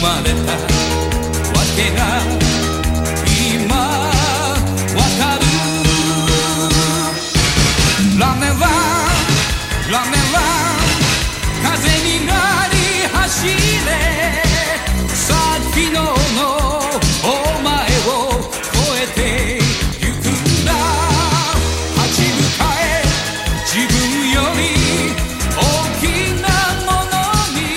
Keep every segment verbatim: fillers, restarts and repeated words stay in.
まれたわけが今わかるラメはラメは風になり走れさあ昨日のお前を超えてゆくんだ立ち向かえ自分より大きなものに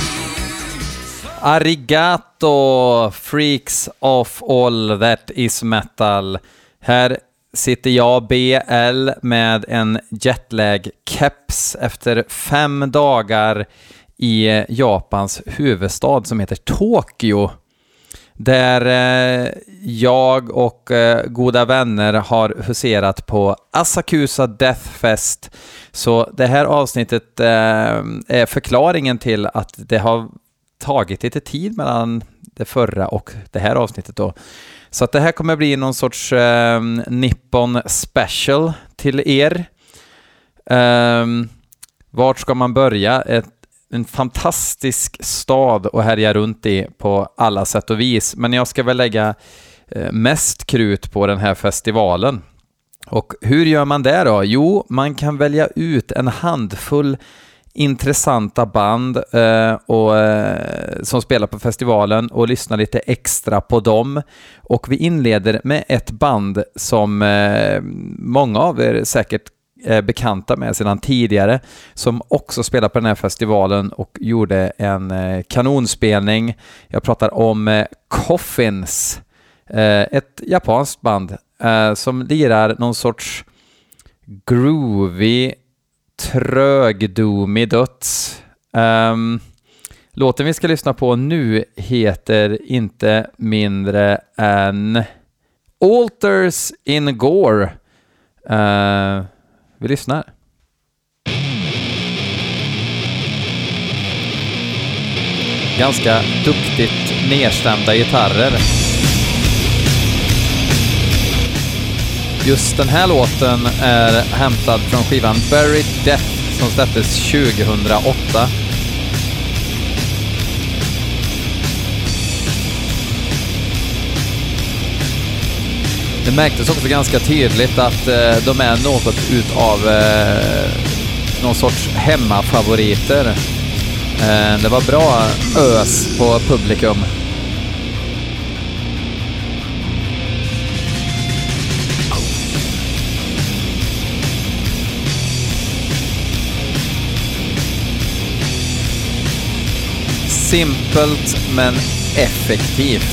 Arigato freaks of all that is metal. Här sitter jag B L med en jetlag-keps efter fem dagar i Japans huvudstad som heter Tokyo. Där eh, jag och eh, goda vänner har huserat på Asakusa Death Fest. Så det här avsnittet eh, är förklaringen till att det har tagit lite tid mellan det förra och det här avsnittet då. Så att det här kommer bli någon sorts eh, Nippon special till er. Eh, vart ska man börja? Ett, en fantastisk stad att härja runt i på alla sätt och vis. Men jag ska väl lägga eh, mest krut på den här festivalen. Och hur gör man det då? Jo, man kan välja ut en handfull intressanta band eh, och, eh, som spelar på festivalen och lyssna lite extra på dem. Och vi inleder med ett band som eh, många av er säkert är bekanta med sedan tidigare, som också spelar på den här festivalen och gjorde en eh, kanonspelning. Jag pratar om eh, Coffins, eh, ett japanskt band eh, som lirar någon sorts groovy trögdomig döds. Um, låten vi ska lyssna på nu heter inte mindre än Altars in Gore. Uh, vi lyssnar. Ganska duktigt nedstämda gitarrer. Just den här låten är hämtad från skivan Buried Death som släpptes tjugohundraåtta. Det märktes också ganska tydligt att eh, de är något utav eh, någon sorts hemmafavoriter. Eh, det var bra ös på publikum. Simpelt men effektivt.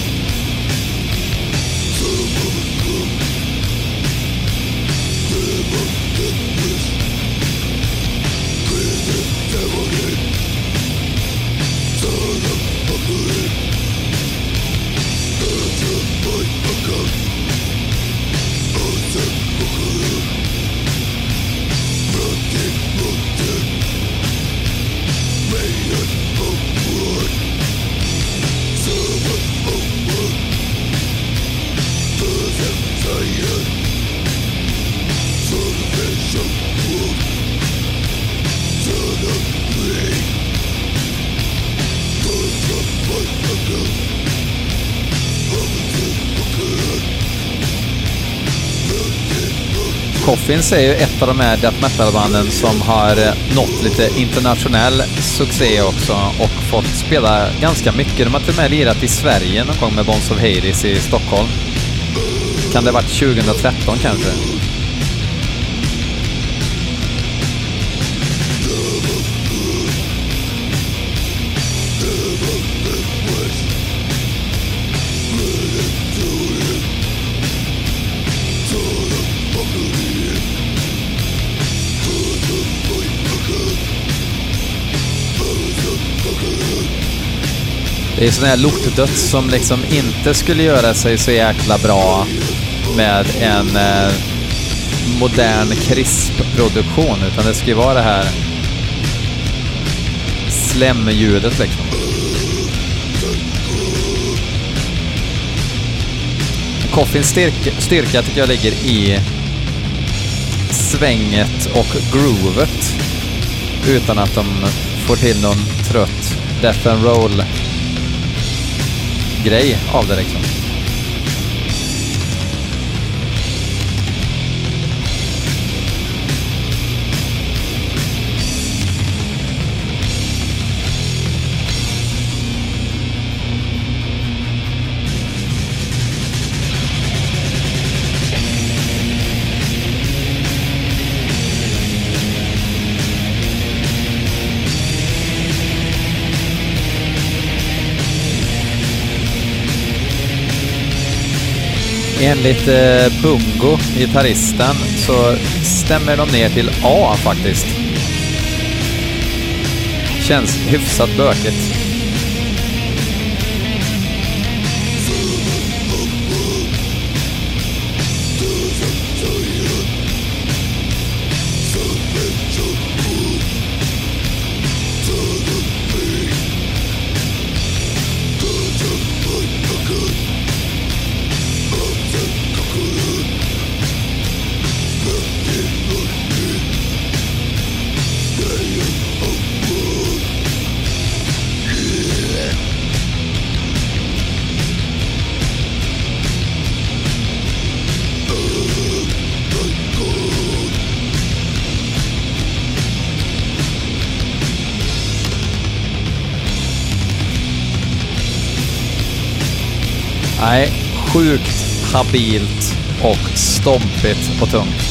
Coffins är ju ett av de här death metal-banden som har nått lite internationell succé också och fått spela ganska mycket. De har till och med lirat i Sverige någon gång med Bonds of Hades i Stockholm. Kan det ha varit tjugohundratretton kanske? Det är sån här lortdöds som liksom inte skulle göra sig så jäkla bra med en eh, modern krisp-produktion, utan det ska ju vara det här slämljudet liksom. Coffins styrka, styrka tycker jag ligger i svänget och groovet utan att de får till någon trött death and roll grej av det liksom. Enligt eh, Bungo, gitarristen, så stämmer de ner till A faktiskt. Känns hyfsat bökigt. Nej, sjukt habilt och stompigt och tungt.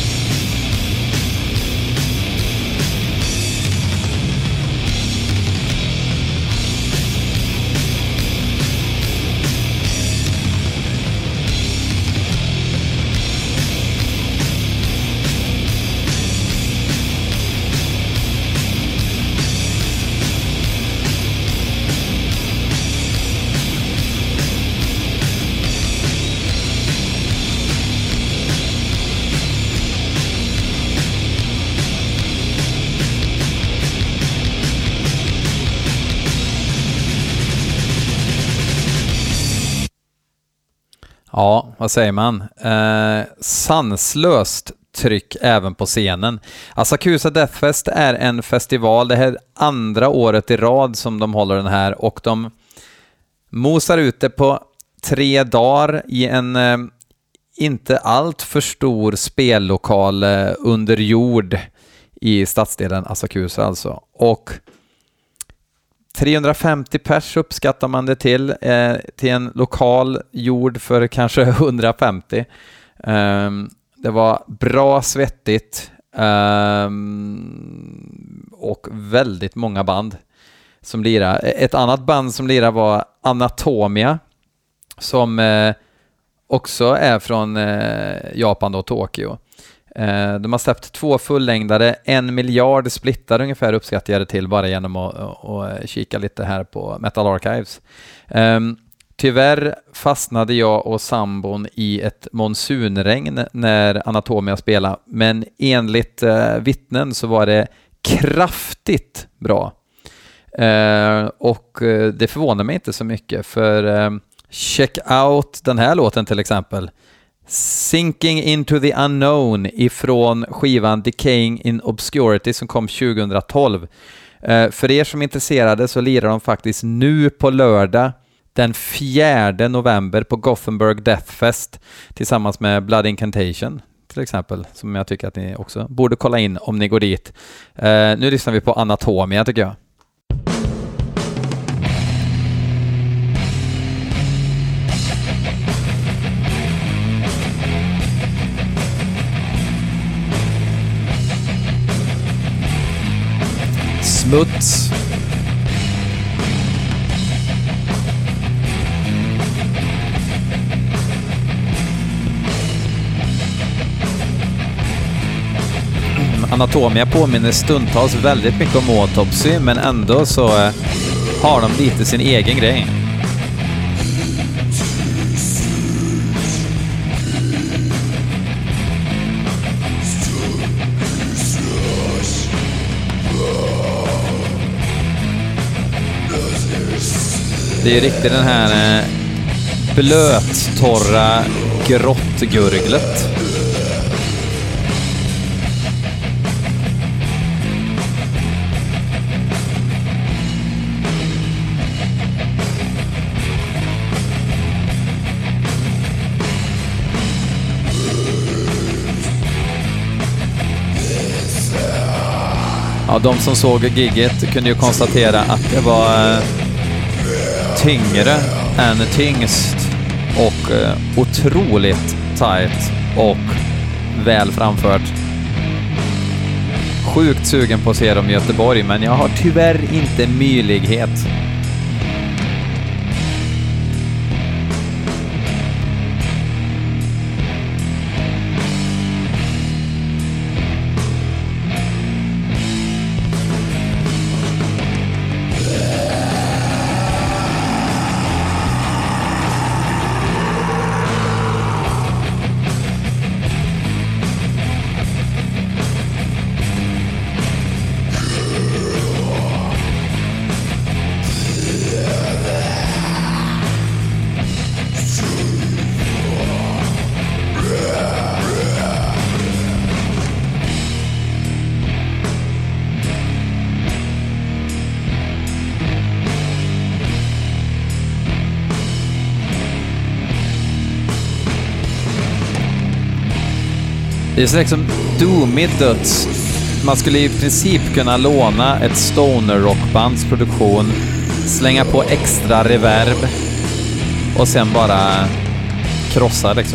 Ja, vad säger man? Eh, sanslöst tryck även på scenen. Asakusa Deathfest är en festival, det här andra året i rad som de håller den här, och de mosar ut det på tre dagar i en eh, inte allt för stor spellokal eh, under jord i stadsdelen Asakusa alltså. Och trehundrafemtio pers uppskattar man det till, eh, till en lokal gjord för kanske hundrafemtio. Um, det var bra svettigt um, och väldigt många band som lirade. Ett annat band som lirade var Anatomia, som eh, också är från eh, Japan och Tokyo. Eh, de har släppt två fullängdare, en miljard splittar ungefär uppskattar jag det till bara genom att, att, att kika lite här på Metal Archives. Eh, tyvärr fastnade jag och sambon i ett monsunregn när Anatomia spelade, men enligt eh, vittnen så var det kraftigt bra. Eh, och eh, det förvånar mig inte så mycket, för eh, check out den här låten till exempel. Sinking into the unknown ifrån skivan Decaying in Obscurity som kom tjugohundratolv. Eh, för er som är intresserade så lirar de faktiskt nu på lördag den fjärde november på Gothenburg Deathfest tillsammans med Blood Incantation till exempel, som jag tycker att ni också borde kolla in om ni går dit. Eh, nu lyssnar vi på Anatomia tycker jag. Smuts. Anatomia påminner stundtals väldigt mycket om Autopsy, men ändå så eh, har de lite sin egen grej. Det är riktigt den här eh, blöttorra grottgurglet. Ja, de som såg gigget kunde ju konstatera att det var tyngre än tyngst och otroligt tight och väl framfört. Sjukt sugen på att se dem i Göteborg, men jag har tyvärr inte möjlighet. Det är så liksom doomigt döds. Man skulle i princip kunna låna ett stoner rockbands produktion, slänga på extra reverb och sen bara krossa liksom.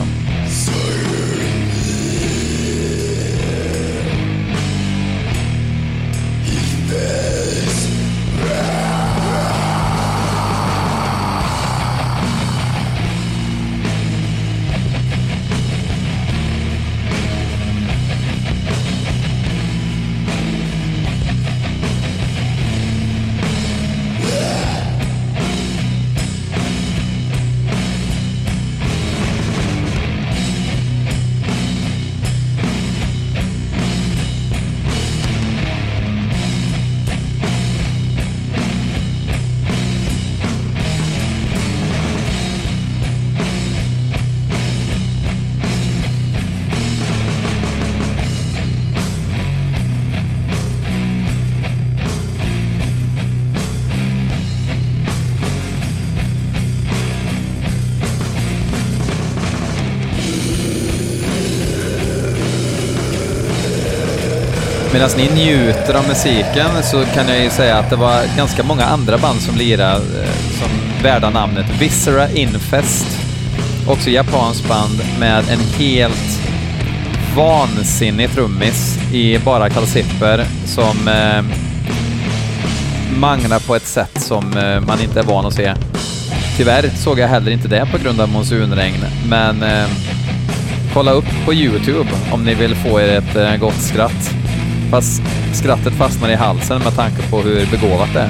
Medan ni njuter av musiken så kan jag ju säga att det var ganska många andra band som lirade som värda namnet. Viscera Infest, också japanskt band med en helt vansinnig trummis i bara kalsipper som eh, manglar på ett sätt som eh, man inte är van att se. Tyvärr såg jag heller inte det på grund av monsunregn, men eh, kolla upp på YouTube om ni vill få er ett eh, gott skratt. Fast skrattet fastnar i halsen med tanke på hur begåvat det är.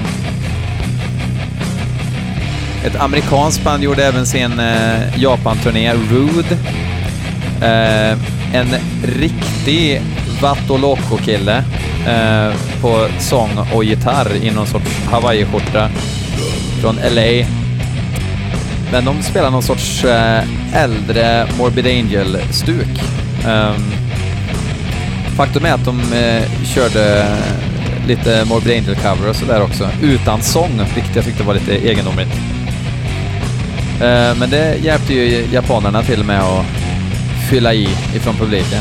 Ett amerikanskt band gjorde även sin eh, Japan-turné, Rude. Eh, en riktig Vatoloko-kille eh, på sång och gitarr i någon sorts Hawaii-skjorta från L A. Men de spelar någon sorts eh, äldre Morbid Angel-stuk. Um, Faktum är att de eh, körde lite Morbid Angel-cover och sådär också, utan sång, vilket jag tyckte var lite egendomligt. Eh, men det hjälpte ju japanerna till med att fylla i ifrån publiken.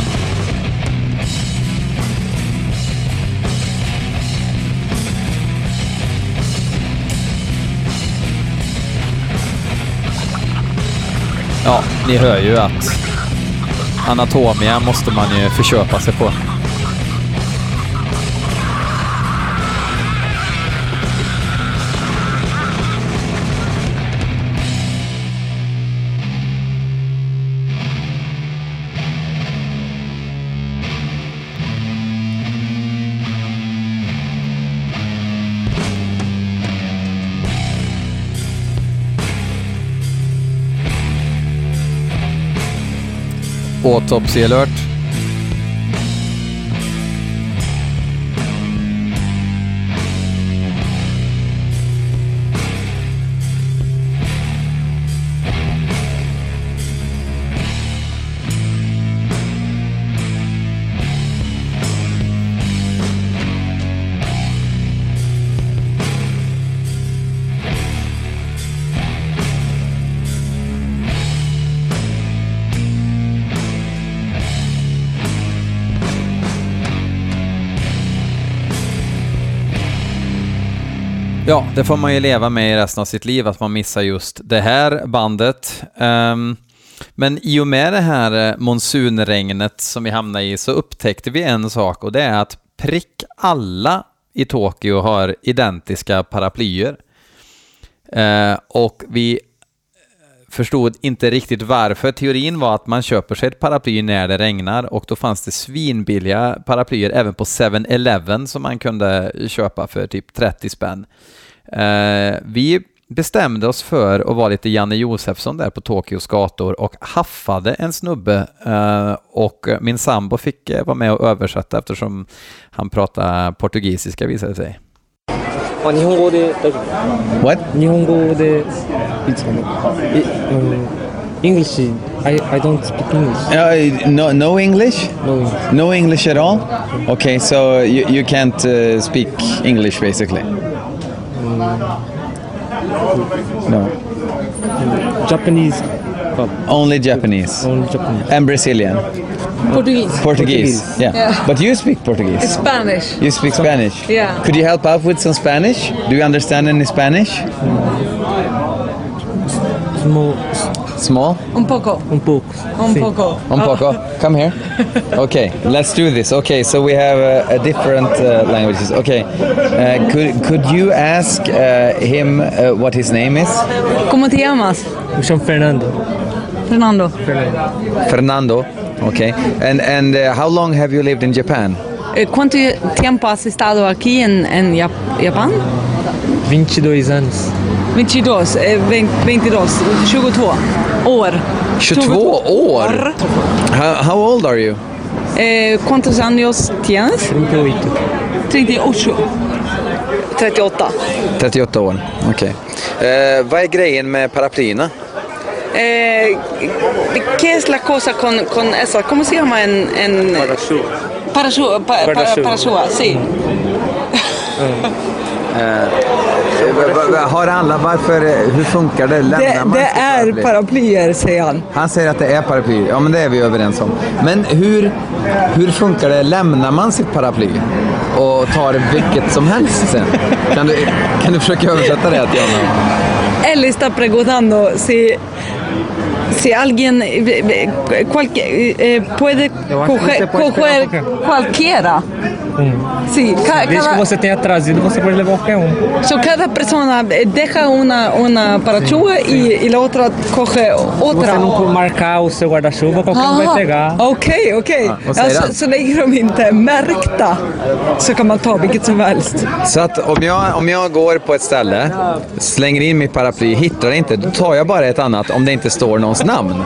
Ja, ni hör ju att Anatomia måste man ju förköpa sig på. Autopsy alert. Ja, det får man ju leva med i resten av sitt liv, att man missar just det här bandet. Um, men i och med det här monsunregnet som vi hamnade i så upptäckte vi en sak, och det är att prick alla i Tokyo har identiska paraplyer. Uh, och vi förstod inte riktigt varför. Teorin var att man köper sig ett paraply när det regnar, och då fanns det svinbilliga paraplyer även på seven eleven som man kunde köpa för typ trettio spänn. Eh, vi bestämde oss för att vara lite Janne Josefsson där på Tokyos gator och haffade en snubbe, eh, och min sambo fick eh, vara med och översätta eftersom han pratar portugisiska, visade sig. What? English. I, I don't speak English. Uh, no, no English? No English. No English at all? Okay, so you, you can't uh, speak English basically? Mm. No. Japanese. Only Japanese? Only Japanese. And Brazilian? Portuguese. Portuguese, Portuguese. Yeah. Yeah. But you speak Portuguese? It's Spanish. You speak Spanish? Yeah. Could you help out with some Spanish? Do you understand any Spanish? Small. Small? Un poco. Un poco. Un Sí. poco. Un poco. Come here. Okay, let's do this. Okay, so we have uh, a different uh, languages. Okay, uh, could could you ask uh, him uh, what his name is? ¿Cómo te llamas? Me chamo Fernando. Fernando. Fernando. Fernando. Okay, and and uh, how long have you lived in Japan? Eh, ¿Cuánto tiempo has estado aquí en, en Jap- Japan? veintidós anos. veintidós, eh, veintidós, tjugotvå år. tjugotvå år? How, how old are you? Eh, ¿Cuántos años tienes? trinta y ocho. trettioåtta. trettioåtta. trettioåtta år, okej. Okay. Uh, vad är grejen med paraplyerna? Eh, ¿Qué es la cosa con, con esa? ¿Cómo se llama en... en Parachute. Parachute, pa, pa, Parachute. parachute, sí. Uh, har alla, varför, hur funkar det? Lämnar Det, man det sitt är paraply? paraplyer, säger han. Han säger att det är paraply. Ja, men det är vi överens om. Men hur, hur funkar det? Lämnar man sitt paraply och tar vilket som helst sen? Kan du, kan du försöka översätta det till honom? Él está preguntando si, si alguien eh, cualquier, eh, puede coger, coger cualquiera. Sí, ca- Desde que cada, você tenha trazido, você pode levar qualquer um. so cada persona deja una, una parachute y, y la otra coge Se otra. você não marcar o seu guarda-chuva, qualquer um vai pegar. Okej, okej. Ja, vad säger Ja, han? så, så länge de inte är märkta så kan man ta vilket som helst. Så att om jag, om jag går på ett ställe, slänger in mitt paraply, hittar det inte, då tar jag bara ett annat om det inte står någons namn.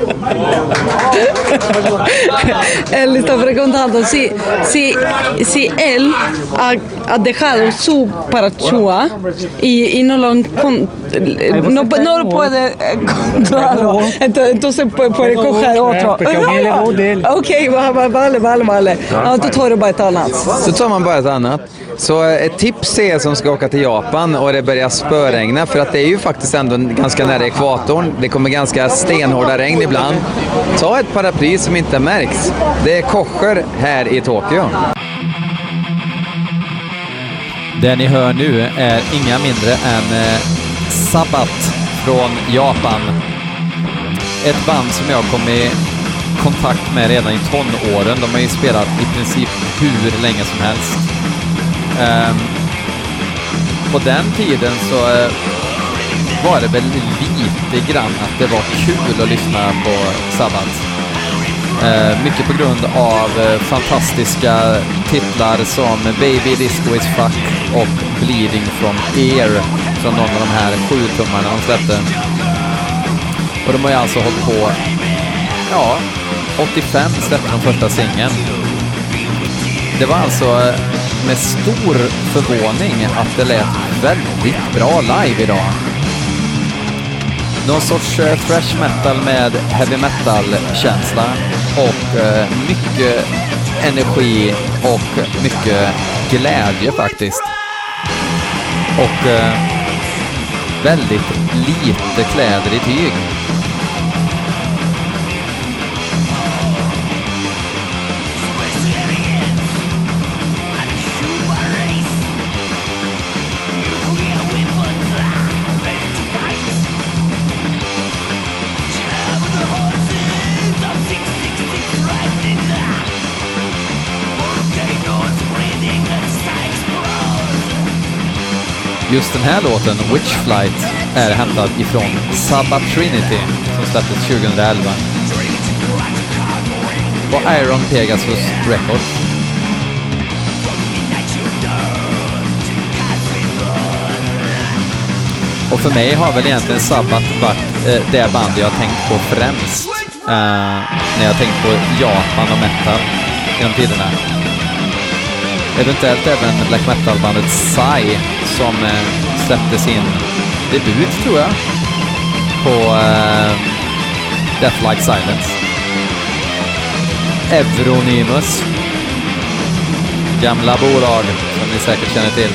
Él está preguntando si, si, si él ha, ha dejado su parachua y, y no lo encon- no, no lo puede encontrarlo. Entonces, entonces puede, puede coger otro. porque alguien levó del. Okej, vale, vale, vale, vale. Ja, då tar du bara ett annat. Så tar man bara ett annat. Så ett tips är som ska åka till Japan och det börjar spöregna, för att det är ju faktiskt ändå ganska nära ekvatorn. Det kommer ganska stenhårda regn ibland. Ta ett paraply som inte märks. Det är kocher här i Tokyo. Det ni hör nu är inga mindre än eh, Sabbath från Japan. Ett band som jag kom i kontakt med redan i tonåren. De har ju spelat i princip hur länge som helst. Um, på den tiden så uh, var det väl lite grann att det var kul att lyssna på Sabbath. Uh, mycket på grund av uh, fantastiska titlar som Baby Disco Is Fuck och Bleeding From Ear från någon av de här sju tummarna de släppte. Och de har ju alltså hållit på, ja, åttiofem släppte de första singeln. Det var alltså uh, med stor förvåning att det lät väldigt bra live idag. Någon sorts uh, thrash metal med heavy metal-känsla och uh, mycket energi och mycket glädje faktiskt. Och uh, väldigt lite kläder i tyg. Just den här låten, Witch Flight, är hämtad ifrån Sabbath Trinity som släpptes tjugohundraelva på Iron Pegasus Records. Och för mig har väl egentligen Sabbath varit eh, det band jag har tänkt på främst eh, när jag har tänkt på Japan och metal genom tiderna. Eventuellt även black metal-bandet Psy som eh, släppte sin debut, tror jag, på eh, Death Like Silence. Euronymous, gamla bolag som ni säkert känner till.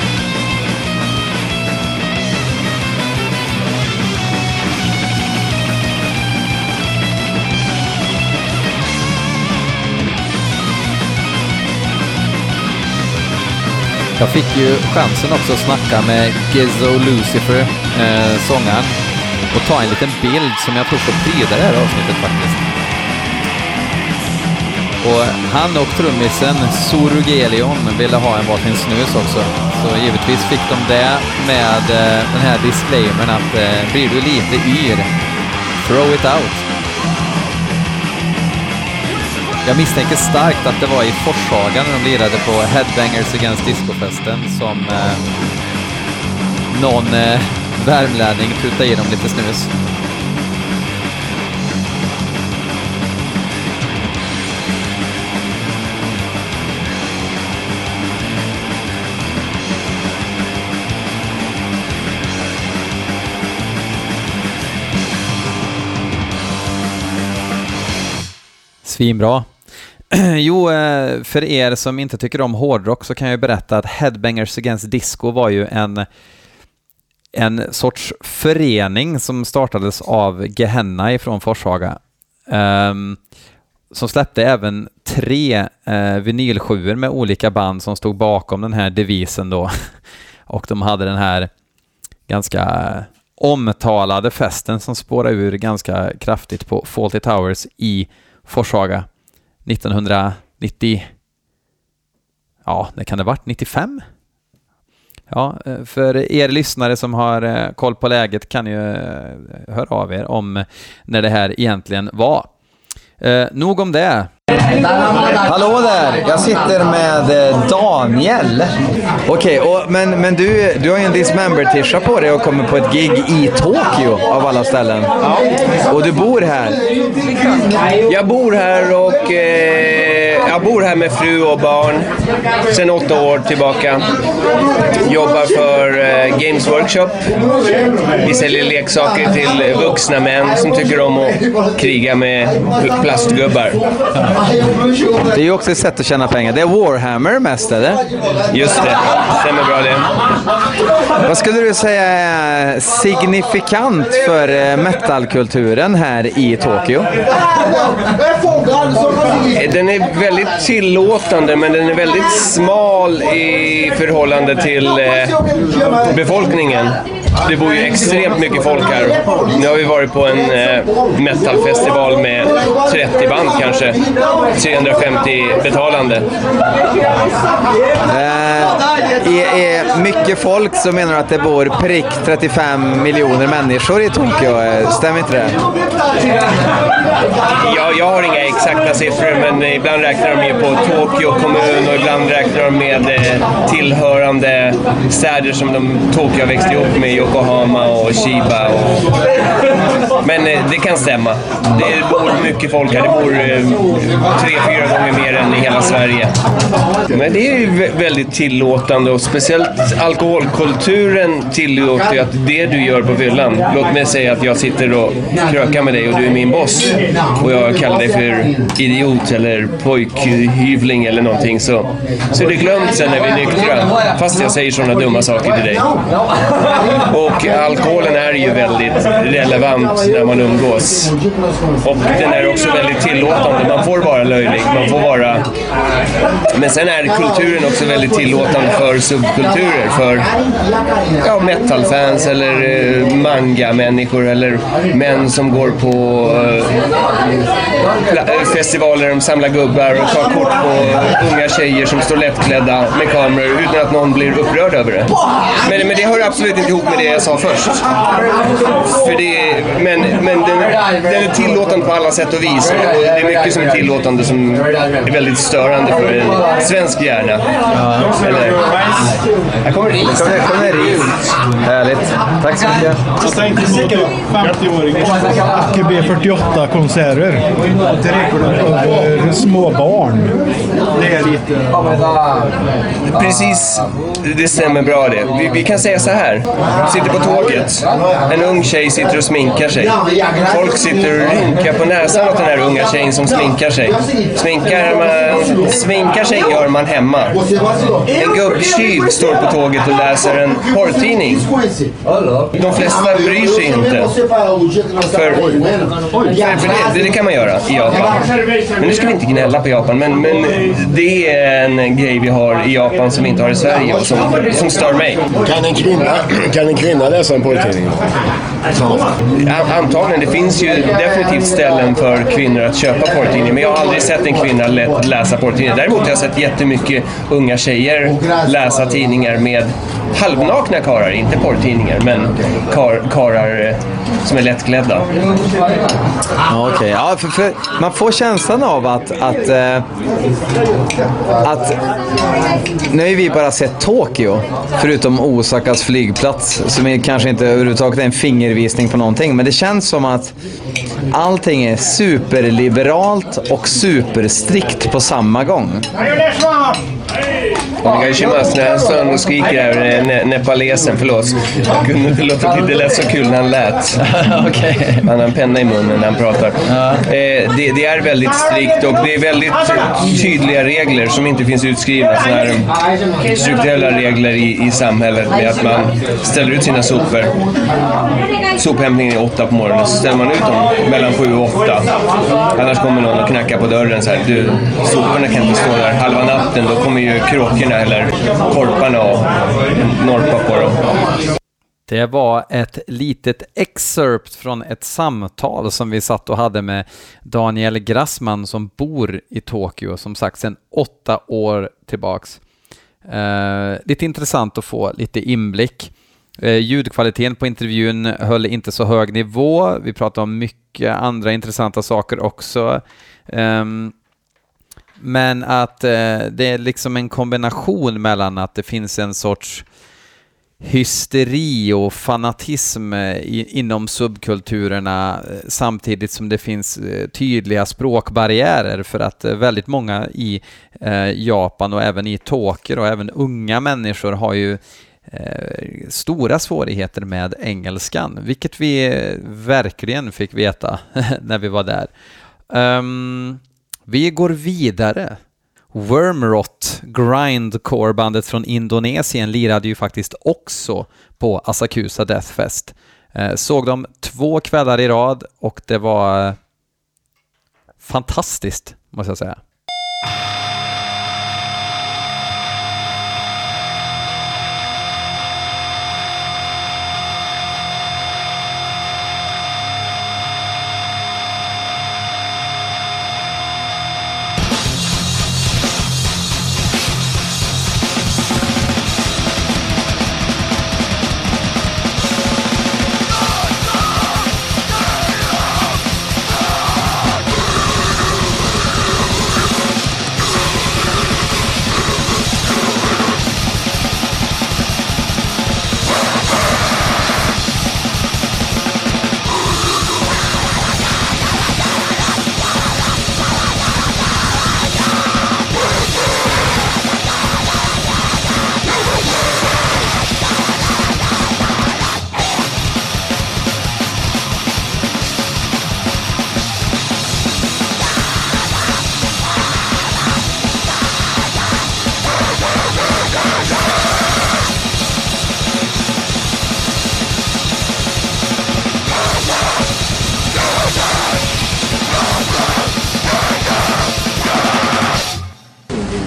Jag fick ju chansen också att snacka med Gizzo Lucifer, eh, sångaren, och ta en liten bild som jag tror får pryda det här avsnittet faktiskt. Och han och trummisen Sorugelion ville ha en varsin snus också. Så givetvis fick de det med eh, den här disclaimern att eh, blir du lite yr, throw it out. Jag misstänker starkt att det var i Forshaga när de lirade på Headbangers Against Disco-festen som eh, någon eh, värmlänning putade i dem lite snus. Svinbra. Jo, för er som inte tycker om hårdrock så kan jag berätta att Headbangers Against Disco var ju en, en sorts förening som startades av Gehenna ifrån Forshaga. Um, som släppte även tre uh, vinylsjuor med olika band som stod bakom den här devisen då. Och de hade den här ganska omtalade festen som spårade ur ganska kraftigt på Fawlty Towers i Forshaga nittonhundranittio. Ja, det kan det ha varit nittiofem. Ja, för er lyssnare som har koll på läget kan ju höra av er om när det här egentligen var. Eh, nog om det. Hallå där, jag sitter med Daniel. Okej, okay, men, men du, du har ju en Dismember-tisha på dig och kommer på ett gig i Tokyo av alla ställen. Ja. Och du bor här. Jag bor här och eh, jag bor här med fru och barn sedan åtta år tillbaka. Jobbar för eh, Games Workshop. Vi säljer leksaker till vuxna män som tycker om att kriga med plastgubbar. Det är ju också ett sätt att tjäna pengar. Det är Warhammer mest, eller? Just det, stämmer bra det. Vad skulle du säga är signifikant för metalkulturen här i Tokyo? Den är väldigt tillåtande, men den är väldigt smal i förhållande till eh, befolkningen. Det bor ju extremt mycket folk här. Nu har vi varit på en eh, metalfestival med trettio band kanske. trehundrafemtio betalande. Eh, är, är mycket folk som menar att det bor prick trettiofem miljoner människor i Tokyo. Stämmer inte det? Ja, jag har inga exakta siffror, men ibland räknar de ju på Tokyo kommun och ibland räknar de med eh, tillhörande städer som de Tokyo har växt ihop med, Yokohama och Chiba. Och... Men eh, det kan stämma. Det bor mycket folk här. Det bor eh, tre, fyra gånger mer än i hela Sverige. Men det är ju väldigt tillåtande och speciellt alkoholkulturen tillåter ju att det du gör på fyllan. Låt mig säga att jag sitter och krökar med dig och du är min boss och jag kallar dig för idiot eller pojkhyvling eller någonting, så, så är det glömt sen när vi är nyktra, fast jag säger sådana dumma saker till dig. Och alkoholen är ju väldigt relevant när man umgås. Och den är också väldigt tillåtande. Man får vara löjlig, man får vara... Men sen är kulturen också väldigt tillåtande för subkulturer. För ja, metalfans eller eh, manga-människor eller män som går på eh, festivaler där de samlar gubbar och tar kort på unga tjejer som står lättklädda med kameror utan att någon blir upprörd över det. Men, men det hör absolut inte ihop med det jag sa först. För det, men men den, den är tillåtande på alla sätt och vis. Och det är mycket som är tillåtande som är väldigt störande för en svensk hjärna. Ja. Eller, jag kommer dit. Jag kommer dit. Härligt. Tack så mycket. Jag tänkte säkert femtio-åring A K B fyrtioåtta konserter till rekorden över små barn. Det är lite... Precis, det stämmer bra det. Vi, vi kan säga så här. Sitter på tåget. En ung tjej sitter och sminkar sig. Folk sitter och rynkar på näsan åt den här unga tjejen som sminkar sig. Sminkar, man, sminkar sig gör man hemma. En gubbtjuv står på tåget och läser en porrtidning. De flesta bryr sig inte. För, för det, det kan man göra i Japan. Men nu ska vi inte gnälla på Japan. Men, men det är en grej vi har i Japan som vi inte har i Sverige och som, som stör mig. Kan en kvinna, kan en kvinna läsa en porrtidning? Antagligen, det finns ju definitivt ställen för kvinnor att köpa porrtidningar, men jag har aldrig sett en kvinna läsa porrtidningar. Däremot har jag sett jättemycket unga tjejer läsa tidningar med halvnakna karar, inte porrtidningar, men kar, karar som är lättklädda. Ja, okej. Okay. Ja, för, för man får känslan av att att, äh, att nu har vi bara sett Tokyo, förutom Osakas flygplats, som är kanske inte överhuvudtaget en fingervisning på någonting, men det känns som att allting är superliberalt och superstrikt på samma gång. Onegaishimasu, när han står och skriker här, ne- nepalesen, förlåt. Det låter, det lät så kul när han lät. Okay. Han har en penna i munnen när han pratar. Ja. Eh, det, det är väldigt strikt och det är väldigt tydliga regler som inte finns utskrivna. Såna här strukturella regler i, i samhället med att man ställer ut sina sopor. Sophämtningen är åtta på morgonen, så ställer man ut dem mellan sju och åtta. Annars kommer någon och knackar på dörren så här. Du, soporna kan inte stå där halva natten, då kommer ju kråkorna eller korparna och norpa på dem. Det var ett litet excerpt från ett samtal som vi satt och hade med Daniel Grassman som bor i Tokyo, som sagt sedan åtta år tillbaks. Eh, lite intressant att få lite inblick. Eh, ljudkvaliteten på intervjun höll inte så hög nivå. Vi pratade om mycket andra intressanta saker också. Eh, men att eh, det är liksom en kombination mellan att det finns en sorts hysteri och fanatism i, inom subkulturerna samtidigt som det finns tydliga språkbarriärer, för att väldigt många i eh, Japan och även i Tokyo och även unga människor har ju eh, stora svårigheter med engelskan, vilket vi verkligen fick veta när vi var där. Um, vi går vidare. Wormrot, grindcore-bandet från Indonesien, lirade ju faktiskt också på Asakusa Death Fest. Eh, såg dem två kvällar i rad och det var eh, fantastiskt, måste jag säga.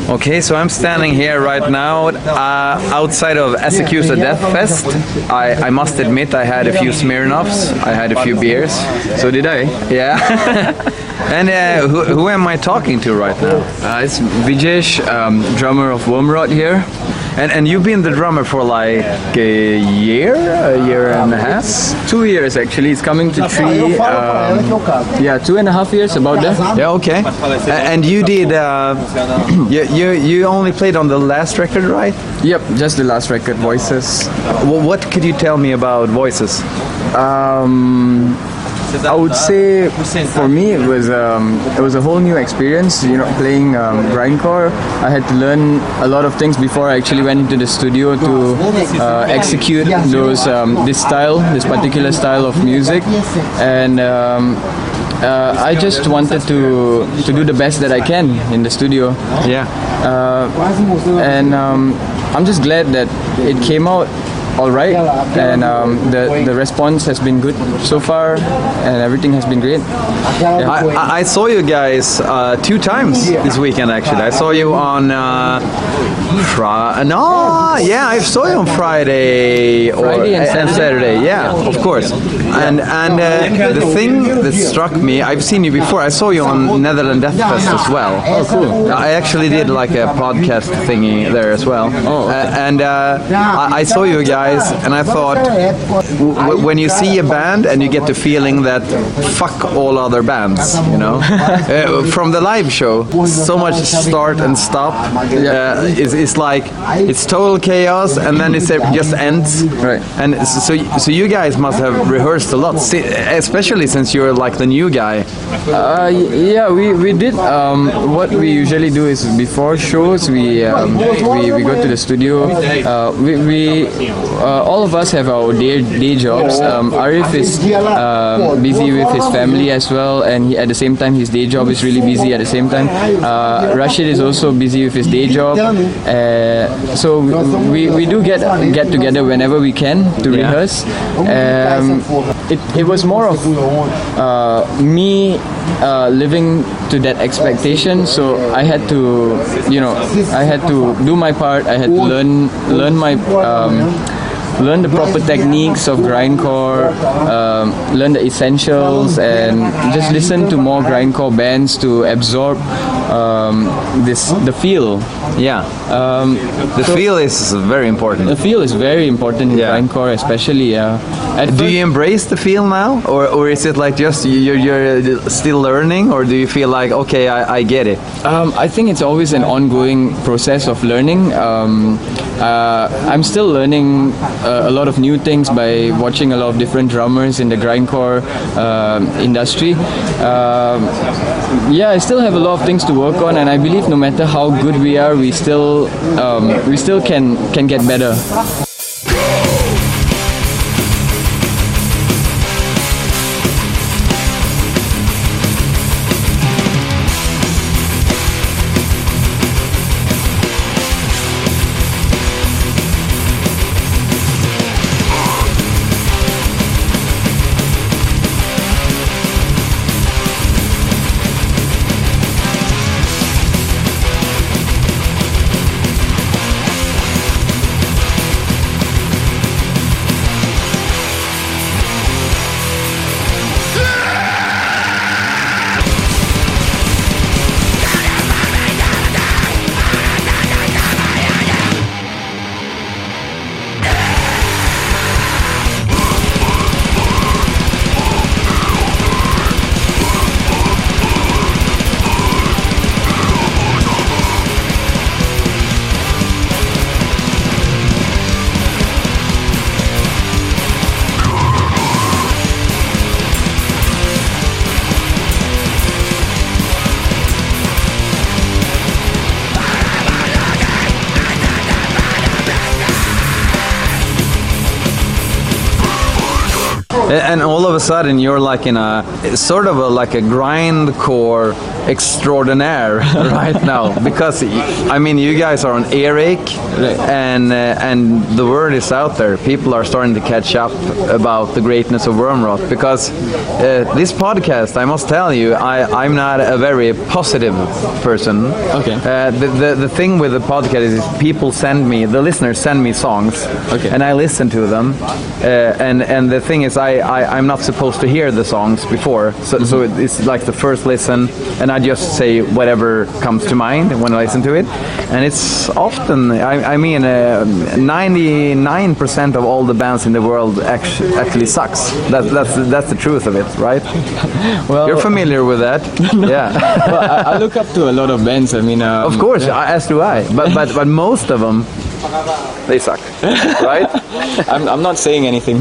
Okay, so I'm standing here right now uh, outside of Asakusa Death Fest. I, I must admit I had a few Smirnoffs, I had a few beers. So did I. Yeah. And uh, who, who am I talking to right now? Uh, it's Vijesh, um, drummer of Wormrot here. And and you've been the drummer for like a year, a year and a half? Two years actually. It's coming to three. Um, yeah, two and a half years about that. Yeah, okay. A- And you did. Uh, you, you you only played on the last record, right? Yep, just the last record, Voices. Well, what could you tell me about Voices? Um, I would say for me it was um, it was a whole new experience. You know, playing um, grindcore. I had to learn a lot of things before I actually went into the studio to uh, execute those um, this style, this particular style of music, and. Um, Uh, I just wanted to to do the best that I can in the studio. Yeah. Uh, and um, I'm just glad that it came out all right, and um, the the response has been good so far, and everything has been great. Yeah. I, I- I saw you guys uh, two times this weekend. Actually, I saw you on. Uh, Fri- no, yeah, I saw you on Friday or Friday and and Saturday. Yeah, of course. And and uh, the thing that struck me, I've seen you before. I saw you on Netherlands Death Fest as well. Oh, cool. I actually did like a podcast thingy there as well. Oh, okay. Uh, and uh, I, I saw you guys, and I thought, w- when you see a band and you get the feeling that fuck all other bands, you know, uh, from the live show, so much start and stop. Uh, is it's like it's total chaos, and then it just ends. Right. And so, so you guys must have rehearsed a lot, si- especially since you're like the new guy. Uh, y- yeah, we, we did. Um, what we usually do is before shows, we um, we, we go to the studio. Uh, we we uh, all of us have our day day jobs. Um, Arif is um, busy with his family as well, and he, at the same time, his day job is really busy. At the same time, uh, Rashid is also busy with his day job. Uh, so we, we do get get together whenever we can to Yeah. rehearse. Um, it, it was more of uh, me uh, living to that expectation. So I had to, you know, I had to do my part. I had to learn learn my. Um, learn the proper techniques of grindcore, um, learn the essentials, and just listen to more grindcore bands to absorb um, this the feel. Yeah. Um, The so feel is very important. the feel is very important in Yeah. grindcore, especially. Uh, at Do first- you embrace the feel now, or, or is it like just you're, you're still learning, or do you feel like okay, I, I get it? Um, I think it's always an ongoing process of learning. Um, uh, I'm still learning uh, a lot of new things by watching a lot of different drummers in the grindcore um industry. Um, yeah, I still have a lot of things to work on, and I believe no matter how good we are, we still um, we still can can get better. And all of a sudden you're like in a sort of a like a grindcore extraordinaire right now, because I mean you guys are on Eric, and uh, and the word is out there. People are starting to catch up about the greatness of Wormrot, because uh, this podcast, I must tell you, I I'm not a very positive person. Okay. Uh, the, the the thing with the podcast is people send me, the listeners send me songs, Okay. and I listen to them, uh, and and the thing is I, I I'm not supposed to hear the songs before, so mm-hmm. so it's like the first listen, and I just say whatever comes to mind when I listen to it, and it's often I, I mean ninety-nine percent uh, of all the bands in the world actually actually sucks. That, that's that's the truth of it, right? Well, you're familiar with that. Yeah. Well, I, I look up to a lot of bands. I mean, um, of course, yeah. as do I. But but but most of them, they suck, right? I'm I'm not saying anything.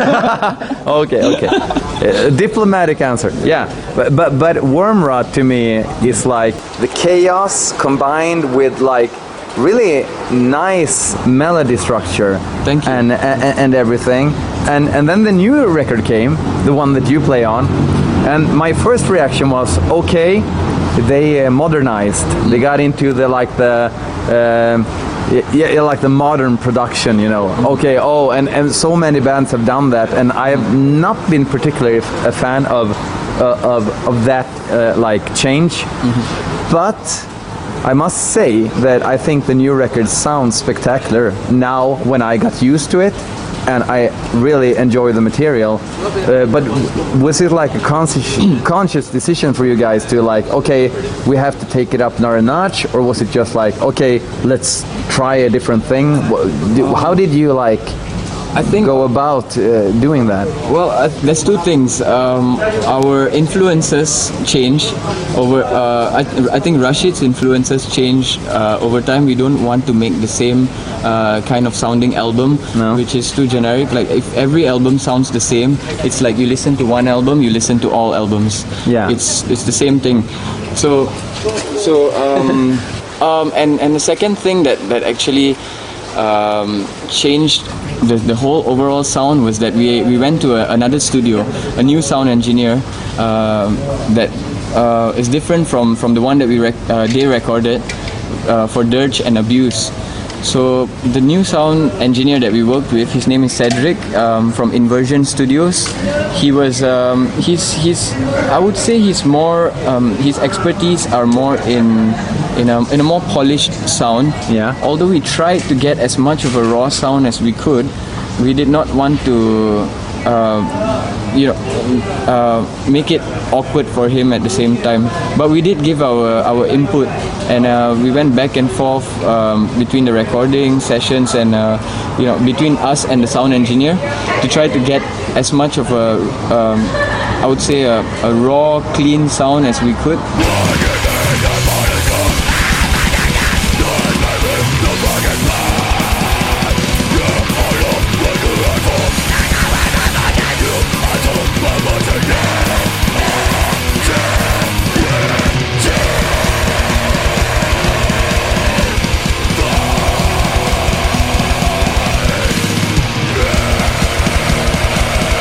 okay, okay. Uh, diplomatic answer. Yeah, but but but Wormrot to me is like the chaos combined with like really nice melody structure. Thank you. And and, and everything. And and then the new record came, the one that you play on, and my first reaction was okay. They uh, modernized. They got into the like the. Um, Yeah, yeah, like the modern production, you know. Okay, oh, and, and so many bands have done that, and I have not been particularly a fan of uh, of of that uh, like change. Mm-hmm. But I must say that I think the new record sounds spectacular now when I got used to it, and I really enjoy the material. Uh, but was it like a conscious, conscious decision for you guys to like, okay, we have to take it up another notch, or was it just like, okay, let's try a different thing? How did you like I think go about uh, doing that? Well, uh, there's two things. Um, our influences change over. Uh, I, I think Rashid's influences change uh, over time. We don't want to make the same uh, kind of sounding album, No. which is too generic. Like if every album sounds the same, it's like you listen to one album, you listen to all albums. Yeah. It's it's the same thing. So so um, um, and and the second thing that that actually um, changed The, the whole overall sound was that we we went to a, another studio, a new sound engineer uh, that uh, is different from, from the one that we rec- uh, they recorded uh, for Dirge and Abuse. So the new sound engineer that we worked with, his name is Cedric um, from Inversion Studios. He was um, he's he's I would say he's more um, his expertise are more in in a in a more polished sound. Yeah. Although we tried to get as much of a raw sound as we could, we did not want to uh, you know uh, make it awkward for him at the same time. But we did give our our input, and uh, we went back and forth um, between the recording sessions and uh, you know between us and the sound engineer to try to get as much of a um, I would say a, a raw, clean sound as we could.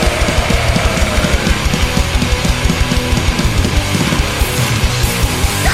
Yeah.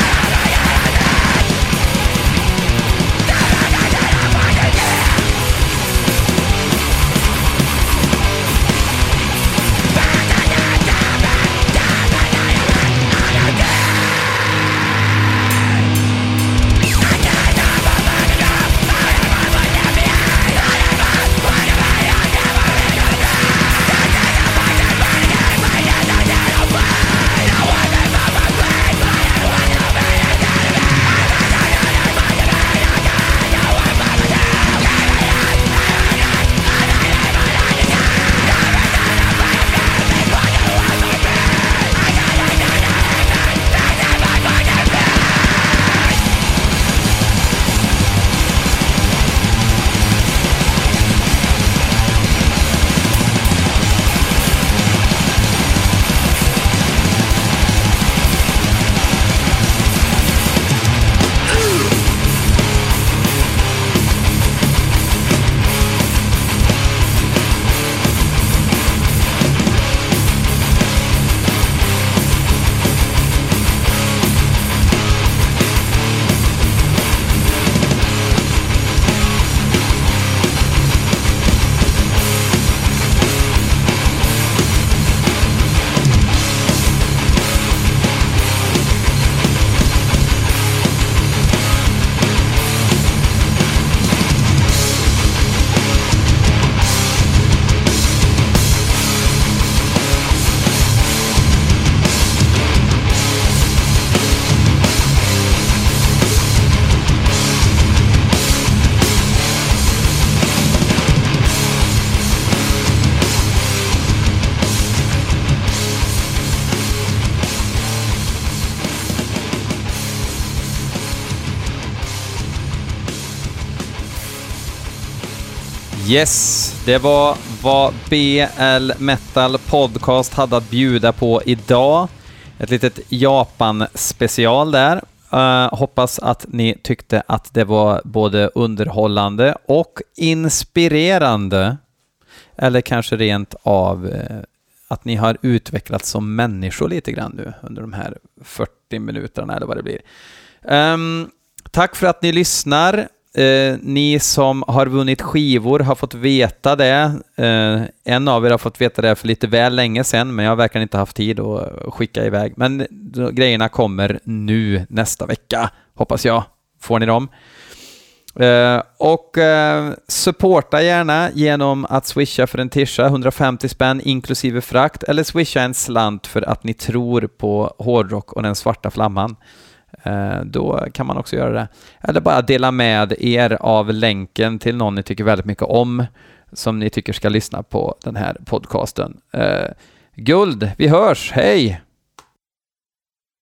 Yes, det var vad B L Metal Podcast hade att bjuda på idag. Ett litet Japan-special där. Uh, hoppas att ni tyckte att det var både underhållande och inspirerande. Eller kanske rent av uh, att ni har utvecklats som människor lite grann nu under de här fyrtio minuterna eller vad det blir. Um, tack för att ni lyssnar. Uh, ni som har vunnit skivor har fått veta det. Uh, en av er har fått veta det för lite väl länge sedan, men jag har verkligen inte haft tid att skicka iväg. Men då, grejerna kommer nu nästa vecka, hoppas jag. Får ni dem? Uh, och uh, supporta gärna genom att swisha för en tisha, hundrafemtio spänn inklusive frakt, eller swisha en slant för att ni tror på hårdrock och den svarta flamman. Uh, då kan man också göra det. Eller bara dela med er av länken till någon ni tycker väldigt mycket om, som ni tycker ska lyssna på den här podcasten. Uh, guld, vi hörs, hej!